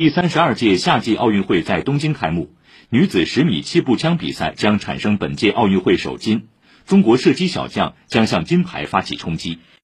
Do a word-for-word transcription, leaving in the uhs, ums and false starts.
第三十二届夏季奥运会在东京开幕，女子十米气步枪比赛将产生本届奥运会首金，中国射击小将将向金牌发起冲击。